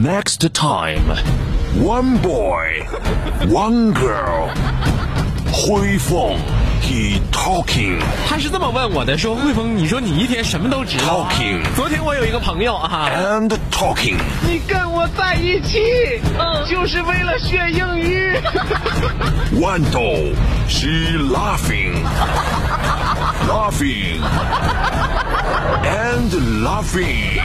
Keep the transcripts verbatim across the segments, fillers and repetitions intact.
Next time, one boy, one girl. 汇丰 he talking， 他是这么问我的，说汇丰，你说你一天什么都知道、啊。 Talking， 昨天我有一个朋友啊 ，and talking， 你跟我在一起，嗯，就是为了学英语。 豌豆 she laughing， laughing and laughing，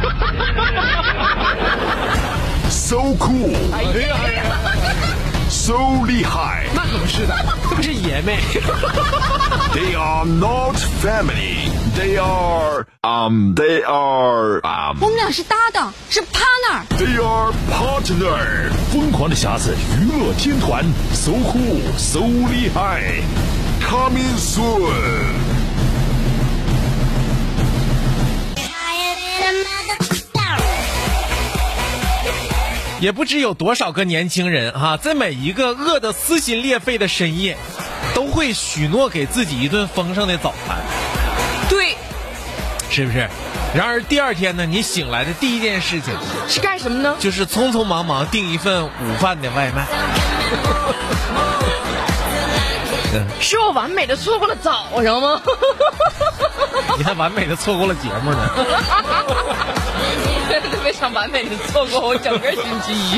so cool， 哎呀哎呀 so 厉害。 那可不是的，这不是爷们。 They are not family. They are um. They are um. 我们俩是搭档，是 partner。 They are partner. 疯狂的匣子娱乐天团 ，so cool, so 厉害 ，coming soon。 也不知有多少个年轻人哈、啊，在每一个饿得撕心裂肺的深夜，都会许诺给自己一顿丰盛的早餐。 对， 是不是？然而第二天呢，你醒来的第一件事情是干什么呢？ 就是匆匆忙忙订一份午饭的外卖。 是我完美的错过了早上吗？ 你还完美的错过了节目呢。 非常完美的错过我整个星期一。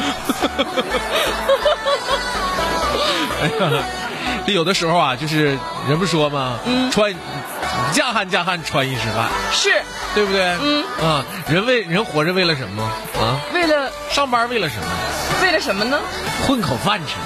哎呀，这有的时候啊，就是人不说吗？嗯，穿嫁汉嫁汉穿衣吃饭， 是对不对？ 嗯啊，人为人活着为了什么啊？ 为了上班为了什么？ 为了什么呢？ 混口饭吃。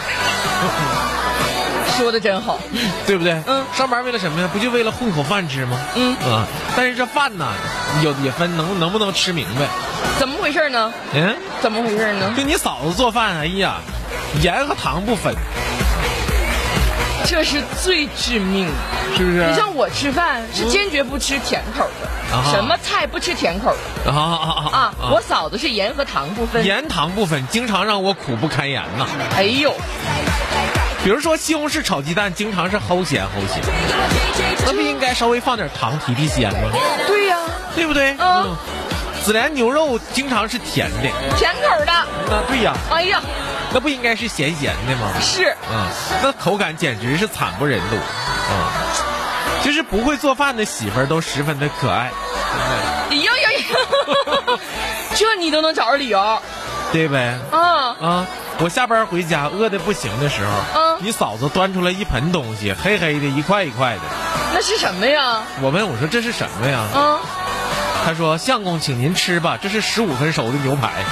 说的真好， 对不对？ 嗯， 上班为了什么呀？不就为了混口饭吃吗？ 嗯啊，但是这饭呢，有也分能能不能吃明白。 怎么回事呢？ 嗯， 怎么回事呢？ 就你嫂子做饭，哎呀，盐和糖不分， 这是最致命的， 是不是？ 你像我吃饭是坚决不吃甜口的， 啊、 什么菜不吃甜口的啊啊啊啊！ 啊我嫂子是盐和糖不分， 盐糖不分，经常让我苦不堪言呐。 哎呦， 比如说西红柿炒鸡蛋，经常是齁咸齁咸，那不应该稍微放点糖提提鲜吗？ 对呀、啊， 对不对？ 嗯。 嗯孜然牛肉经常是甜的， 甜口的。 啊，对呀。 哎呀， 那不应该是咸咸的吗？ 是。 嗯，那口感简直是惨不忍睹。嗯，就是不会做饭的媳妇儿都十分的可爱。 哎呀呀呀，这你都能找着理由， 对呗？ 啊啊！我下班回家饿得不行的时候， 嗯， 你嫂子端出来一盆东西，黑黑的，一块一块的。 那是什么呀？ 我问我说这是什么呀？ 啊。 他说：“相公，请您吃吧，这是十五分熟的牛排。”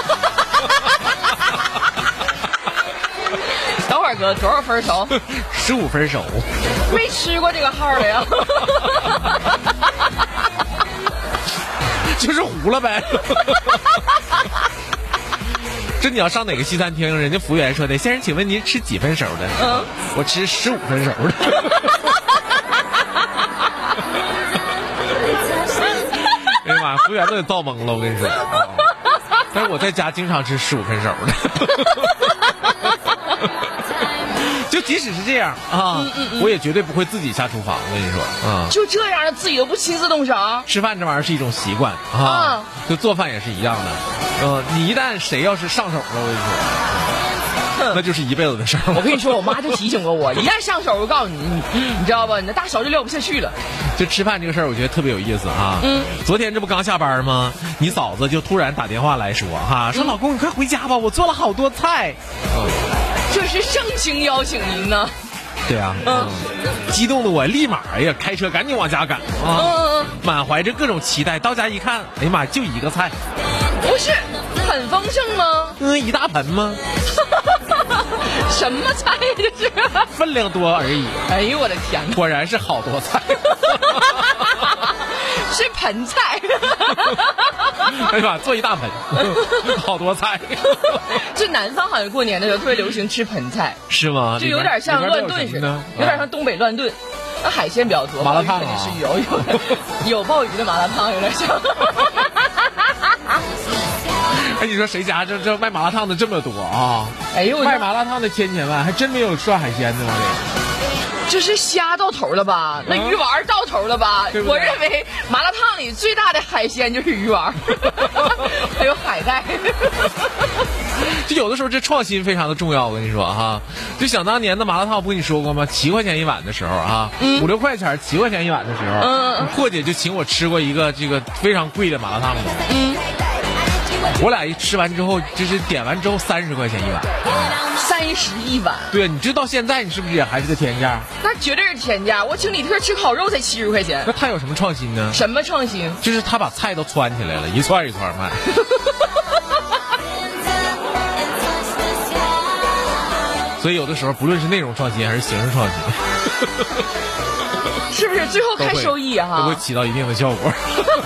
等会儿哥，多少分熟？ 十五分熟。 没吃过这个号的呀。 就是糊了呗。这你要上哪个西餐厅，人家服务员说的：“先生，请问您吃几分熟的？”嗯，我吃十五分熟的。哎呀妈，服务员都得造懵了，我跟你说。但是我在家经常吃十五分熟的。就即使是这样啊、嗯嗯嗯，我也绝对不会自己下厨房。我跟你说啊、嗯， 就这样自己都不亲自动手。 吃饭这玩意儿是一种习惯啊，啊就做饭也是一样的。呃，你一旦谁要是上手了，我跟你说，那就是一辈子的事儿。 我跟你说，我妈就提醒过我，一旦上手，我告诉你，你你知道吧？你的大手就撂不下去了。 就吃饭这个事儿，我觉得特别有意思啊。嗯，昨天这不刚下班吗？你嫂子就突然打电话来说哈，说、嗯、老公你快回家吧，我做了好多菜。嗯。 这是盛情邀请您呢。 对啊，嗯，激动的我立马哎呀，开车赶紧往家赶啊，嗯、满怀着各种期待。到家一看，哎呀妈，就一个菜， 不是很丰盛吗？ 嗯，一大盆吗？ 什么菜这是？ 分量多而已。 哎呦我的天哪！ 果然是好多菜。 是盆菜。 哎呀妈，做一大盆，好多菜。 就南方好像过年的时候特别流行吃盆菜， 是吗？ 就有点像乱炖似的，有点像东北乱炖。那海鲜比较多， 麻辣烫啊，是有有有鲍鱼的麻辣烫，有点像。 哎，你说谁家这这卖麻辣烫的这么多啊？ 哎呦， 卖麻辣烫的千千万，还真没有涮海鲜的吗？ 这是虾到头了吧？那鱼丸到头了吧？ 对不对？ 我认为麻辣烫里最大的海鲜就是鱼丸，还有海带。 就有的时候这创新非常的重要，我跟你说哈。就想当年的麻辣烫，我不跟你说过吗？七块钱一碗的时候啊，嗯、五六块钱七块钱一碗的时候，嗯，破姐就请我吃过一个这个非常贵的麻辣烫的。嗯，我俩一吃完之后，就是点完之后三十块钱一碗。 三十一碗。 对，你知道现在你是不是也还是个天价？ 那绝对是天价。我请李特吃烤肉才七十块钱。 那他有什么创新呢？ 什么创新？ 就是他把菜都窜起来了，一串一串卖。所以有的时候不论是内容创新还是形式创新， 是不是最后看收益哈、啊， 都会起到一定的效果。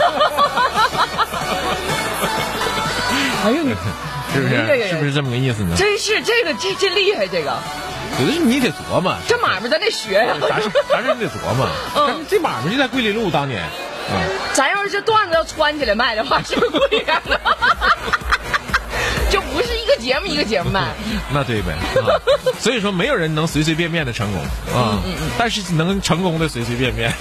哎呦你， 是不是？是不是这么个意思呢？ 真是这个这真厉害，这个。 有的是你得琢磨， 这买卖咱得学呀、 啊。咱是咱是你得琢磨。嗯，这买卖就在桂林路当年。 嗯，咱要是这段子要窜起来卖的话，是不是贵点了？就不是一个节目一个节目卖。 那对呗、啊。所以说，没有人能随随便便的成功啊，嗯嗯嗯、但是能成功的随随便便。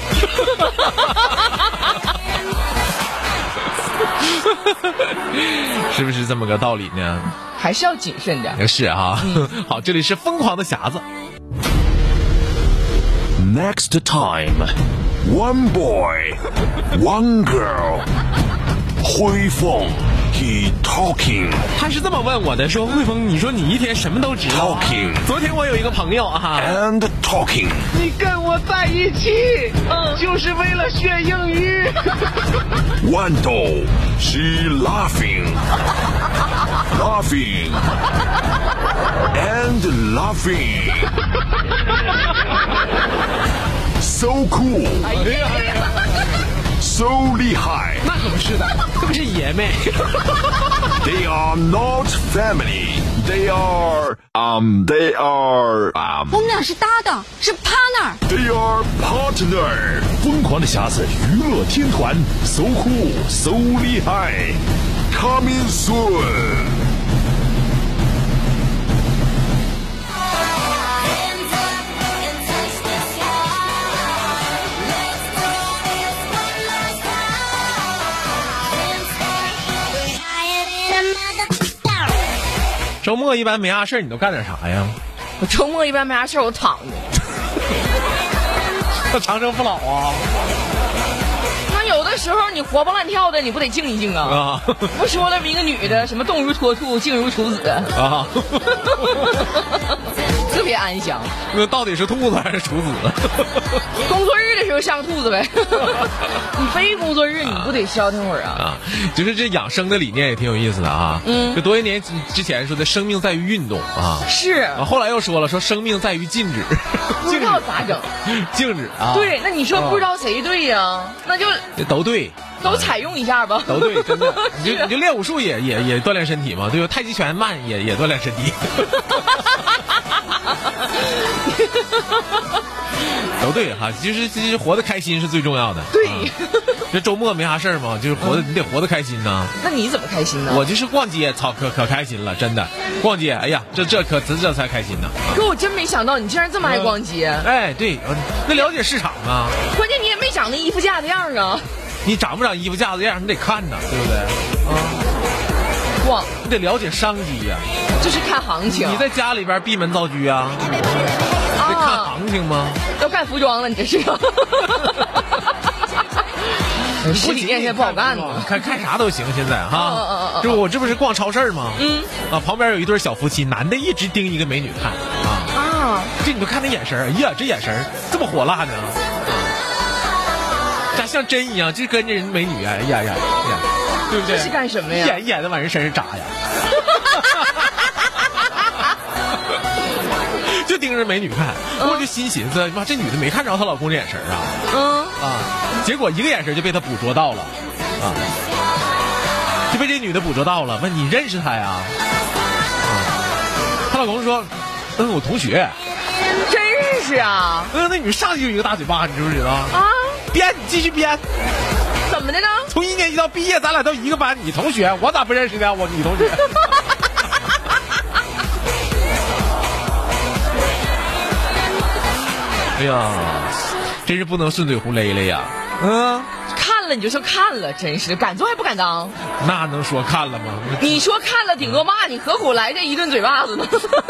是不是这么个道理呢？ 还是要谨慎点。 是啊，嗯、好，这里是疯狂的匣子。 Next time, one boy, one girl. 辉凤 he talking， 他是这么问我的，说汇丰，你说你一天什么都知道、啊。 Talking， 昨天我有一个朋友啊 ，and talking， 你跟我在一起，嗯，就是为了学英语。 豌豆 she laughing， laughing and laughing，so cool， 哎呀。 so 厉害， 那可不是的，这不是爷们。 They are not family. They are um. They are um. 我们俩是搭档，是 partner. They are partner. 疯狂的匣子娱乐天团，so cool, so 厉害。Coming soon. 周末一般没啥事你都干点啥呀？ 我周末一般没啥事我躺着。 那长生不老啊？ 那有的时候你活蹦乱跳的，你不得静一静啊？啊！不说了，一个女的，什么动如脱兔，静如处子啊，特别安详。 那到底是兔子还是处子？ 工作日的时候像兔子呗。你非工作日你不得消停会儿啊？ 啊，就是这养生的理念也挺有意思的啊。嗯，就多些年之前说的生命在于运动啊， 是啊，后来又说了说生命在于静止， 不知道咋整？ 静止啊？ 对，那你说不知道谁对呀、啊？那就都对。 都采用一下吧， 都对，真的，你就你就练武术也也也锻炼身体嘛，对吧？太极拳慢也也锻炼身体，都对哈，就是就是活得开心是最重要的。 对， 啊、这周末没啥事儿嘛，就是活得、嗯、你得活得开心呐。 那你怎么开心呢？ 我就是逛街，操，可可开心了，真的，逛街，哎呀，这这可这这才开心呢。 可我真没想到你竟然这么爱逛街。 嗯、哎，对，那了解市场啊。 关键你也没长那衣服架子样啊。 你长不长衣服架子样，你得看呐，对不对？啊， 逛， 你得了解商机呀、啊。 这是看行情。 你在家里边闭门造车啊？啊得看行情吗？ 要干服装了，你这是？实体店现在不好干呢， 看看啥都行，现在哈。嗯嗯嗯。就我这不是逛超市吗？嗯。啊，旁边有一对小夫妻，男的一直盯一个美女看啊啊！这你就看那眼神，哎呀，这眼神这么火辣呢。咋像针一样，就跟着人美女啊！哎呀呀呀，对不对？ 这是干什么呀？ 一眼一眼的往人身上扎呀！就盯着美女看，嗯、我就心寻思，妈，这女的没看着她老公这眼神啊！嗯啊，结果一个眼神就被她捕捉到了，啊，就被这女的捕捉到了。问你认识她呀？啊，她老公说，嗯，我同学。 真认识啊？ 嗯，那女上去就一个大嘴巴，你知不知道？啊。编，你继续编。 怎么的呢？ 从一年级到毕业，咱俩都一个班，你同学，我咋不认识呢？我你同学。哎呀，真是不能顺嘴胡勒勒呀！嗯， 看看了你就说看了，真是敢做还不敢当。 那能说看了吗？ 你说看了顶多骂你，何苦来这一顿嘴巴子呢？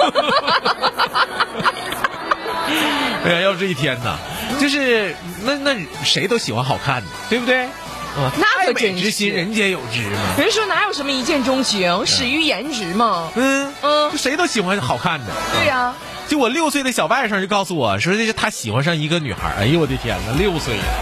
哎呀，要这一天呐，就是那那谁都喜欢好看的，对不对？啊， 那可真是， 之心人皆有之嘛。 人说哪有什么一见钟情，始于颜值嘛。 嗯嗯，谁都喜欢好看的。 对呀、啊。 就我六岁的小外甥就告诉我说，这是他喜欢上一个女孩。哎呦我的天哪，六岁了，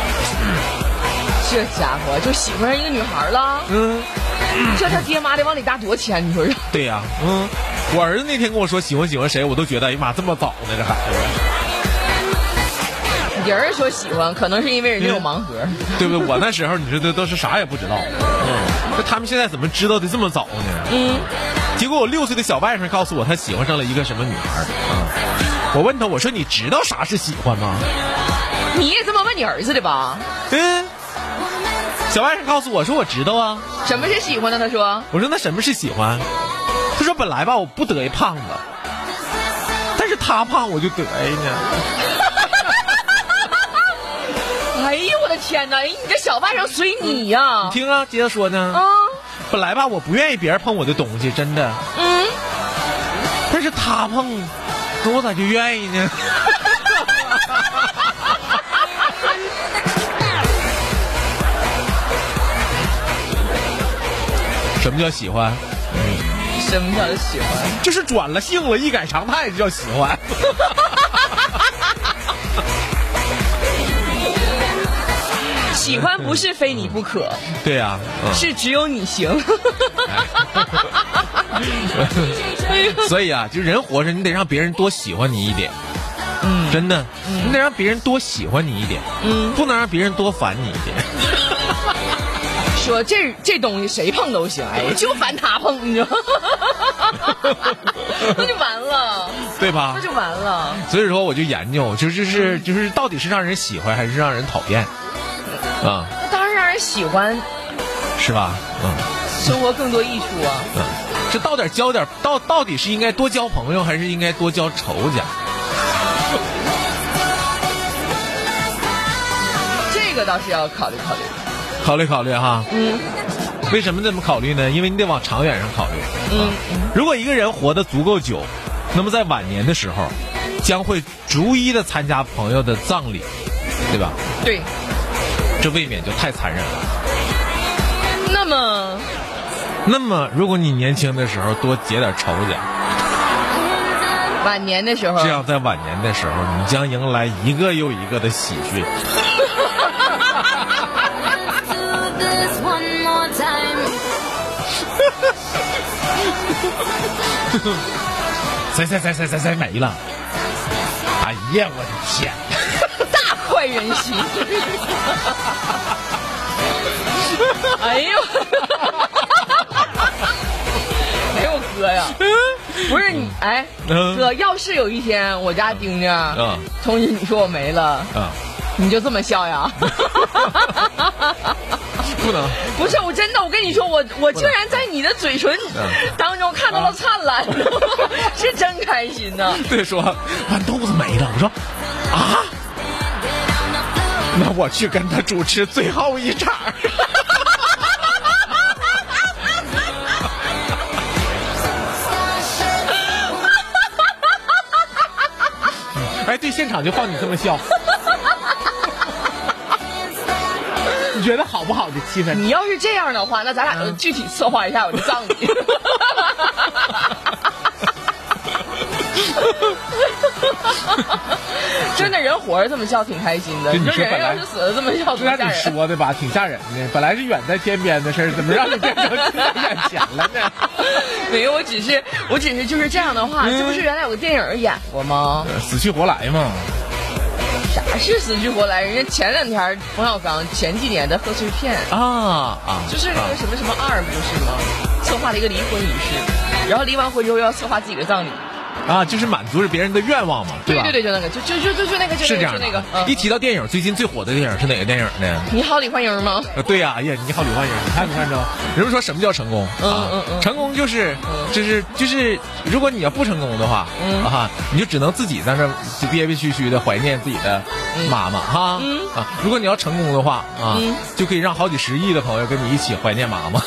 这家伙就喜欢上一个女孩了。嗯，这他爹妈得往里搭多少钱？你说是？ 对呀、啊，嗯，我儿子那天跟我说喜欢喜欢谁，我都觉得哎呀妈，这么早呢这孩子。 你儿子说喜欢，可能是因为人家有盲盒， 嗯、对不对？我那时候你说都都是啥也不知道。嗯，那他们现在怎么知道的这么早呢？嗯。结果我六岁的小外甥告诉我，他喜欢上了一个什么女孩啊！我问他，我说你知道啥是喜欢吗？ 你也这么问你儿子的吧？ 嗯。小外甥告诉我说，我知道啊。 什么是喜欢呢？他说。 我说那什么是喜欢？他说本来吧我不得意胖子，但是他胖我就得意呢。 哎呦我的天哪！你这小外甥随你呀、啊！ 你听啊，接着说呢。啊。本来吧，我不愿意别人碰我的东西，真的。嗯。但是他碰，那我咋就愿意呢？什么叫喜欢？ 嗯。什么叫喜欢？ 就是转了性了，一改常态就叫喜欢。 喜欢不是非你不可， 对呀、啊嗯， 是只有你行。 所以啊，就人活着，你得让别人多喜欢你一点。嗯，真的，嗯、你得让别人多喜欢你一点。嗯，不能让别人多烦你一点。 说这这东西谁碰都行，哎，就烦他碰，你知道，那就完了， 对吧？ 那就完了。 所以说，我就研究，就就是就是，到底是让人喜欢还是让人讨厌？啊， 那当然让人喜欢， 是吧？嗯， 生活更多益处啊。 嗯，这到底交点到到底是应该多交朋友，还是应该多交仇家？ 这个倒是要考虑考虑， 考虑考虑哈。 嗯， 为什么这么考虑呢？因为你得往长远上考虑。嗯，如果一个人活得足够久，那么在晚年的时候，将会逐一的参加朋友的葬礼，对吧？ 对。 这未免就太残忍了。 那么， 那么，如果你年轻的时候多结点仇家， 晚年的时候， 这样在晚年的时候，你将迎来一个又一个的喜讯。谁谁谁谁谁谁没了？哎呀，我的天！ 大快人心！哎呦！哎呦哥呀！不是你哎，哥，要是有一天我家丁丁通知你说我没了，你就这么笑呀？ 不能， 不是我真的，我跟你说，我我竟然在你的嘴唇当中看到了灿烂，是真开心呐！ 对，说豌豆子没了，我说啊，那我去跟他主持最后一场。哎，对，现场就放你这么笑。你觉得好不好的气氛？ 你要是这样的话，那咱俩就具体策划一下我的葬礼。真的，人活着这么笑挺开心的。你说人要是死了这么笑， 就像你说的吧，挺吓人的。本来是远在天边的事儿，怎么让你变成在眼前了呢？ 没有，我只是，我只是就是这样的话，这不是原来有个电影演过吗？ 死去活来嘛。 啥是死去活来？人家前两天冯小刚前几年的贺岁片啊啊， 就是那个什么什么二不是吗？策划了一个离婚仪式，然后离完婚之后要策划自己的葬礼。 啊，就是满足着别人的愿望嘛，对吧？ 对对对，就那个，就就就就就那个， 是这样的。 那个， 一提到电影，最近最火的电影是哪个电影呢？ 你好，李焕英吗？ 对呀，哎呀，你好，李焕英，你看没看着？人们说什么叫成功？ 嗯嗯嗯， 成功就是，就是就是，如果你要不成功的话，啊，你就只能自己在那憋憋屈屈的怀念自己的妈妈哈啊。如果你要成功的话啊，就可以让好几十亿的朋友跟你一起怀念妈妈。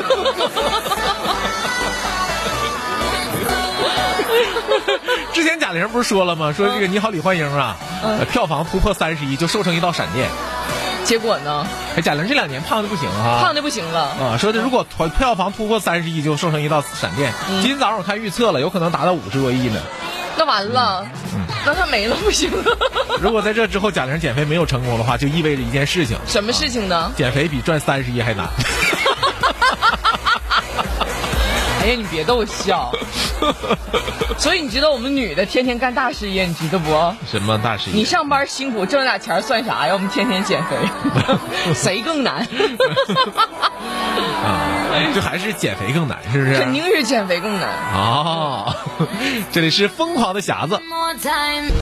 之前贾玲不是说了吗？说这个《你好，李焕英》啊，嗯、票房突破三十亿就瘦成一道闪电。 结果呢？ 哎，贾玲这两年胖的不行哈， 胖的不行了啊！说的如果票房突破三十亿就瘦成一道闪电。嗯、今天早上我看预测了，有可能达到五十多亿呢。 那完了，嗯、那她没了不行了。 如果在这之后贾玲减肥没有成功的话，就意味着一件事情。 什么事情呢？ 啊、减肥比赚三十亿还难。 哎呀，你别逗我笑。所以你知道我们女的天天干大事业，你知道不？ 什么大事业？ 你上班辛苦挣点钱算啥呀？我们天天减肥，谁更难？ 啊，就还是减肥更难，是不是？ 肯定是减肥更难。 哦，这里是疯狂的匣子。